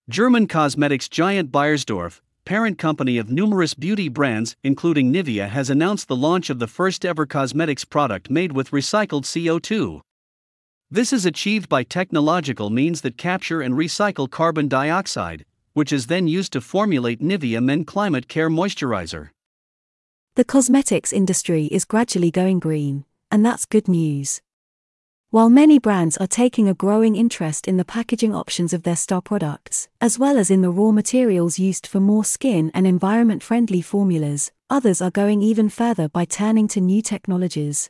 German cosmetics giant Beiersdorf, parent company of numerous beauty brands including Nivea, has announced the launch of the first-ever cosmetics product made with recycled CO2. This is achieved by technological means that capture and recycle carbon dioxide, which is then used to formulate Nivea Men Climate Care Moisturizer. The cosmetics industry is gradually going green, and that's good news. While many brands are taking a growing interest in the packaging options of their star products, as well as in the raw materials used for more skin and environment-friendly formulas, others are going even further by turning to new technologies.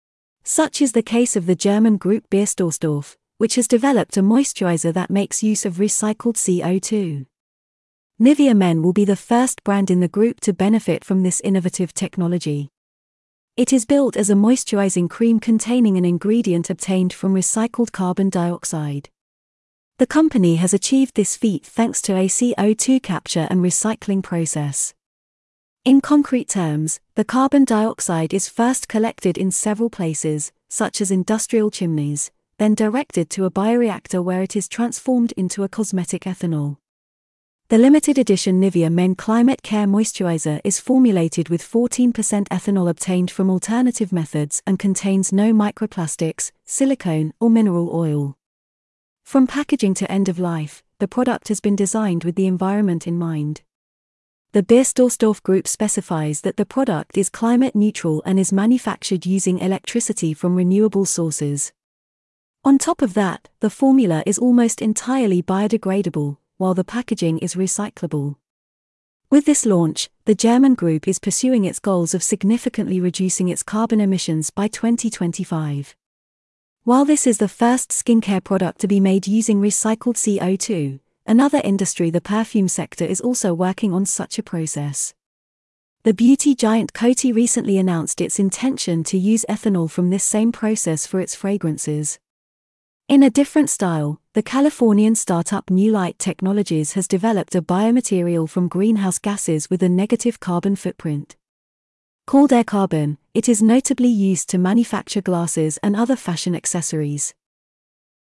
Such is the case of the German group Beiersdorf, which has developed a moisturizer that makes use of recycled CO2. Nivea Men will be the first brand in the group to benefit from this innovative technology. It is built as a moisturizing cream containing an ingredient obtained from recycled carbon dioxide. The company has achieved this feat thanks to a CO2 capture and recycling process. In concrete terms, the carbon dioxide is first collected in several places, such as industrial chimneys, then directed to a bioreactor where it is transformed into a cosmetic ethanol. The limited edition Nivea Men Climate Care Moisturizer is formulated with 14% ethanol obtained from alternative methods and contains no microplastics, silicone, or mineral oil. From packaging to end of life, the product has been designed with the environment in mind. The Beiersdorf Group specifies that the product is climate neutral and is manufactured using electricity from renewable sources. On top of that, the formula is almost entirely biodegradable, while the packaging is recyclable. With this launch, the German group is pursuing its goals of significantly reducing its carbon emissions by 2025. While this is the first skincare product to be made using recycled CO2, another industry, the perfume sector, is also working on such a process. The beauty giant Coty recently announced its intention to use ethanol from this same process for its fragrances. In a different style, the Californian startup New Light Technologies has developed a biomaterial from greenhouse gases with a negative carbon footprint. Called Air Carbon, it is notably used to manufacture glasses and other fashion accessories.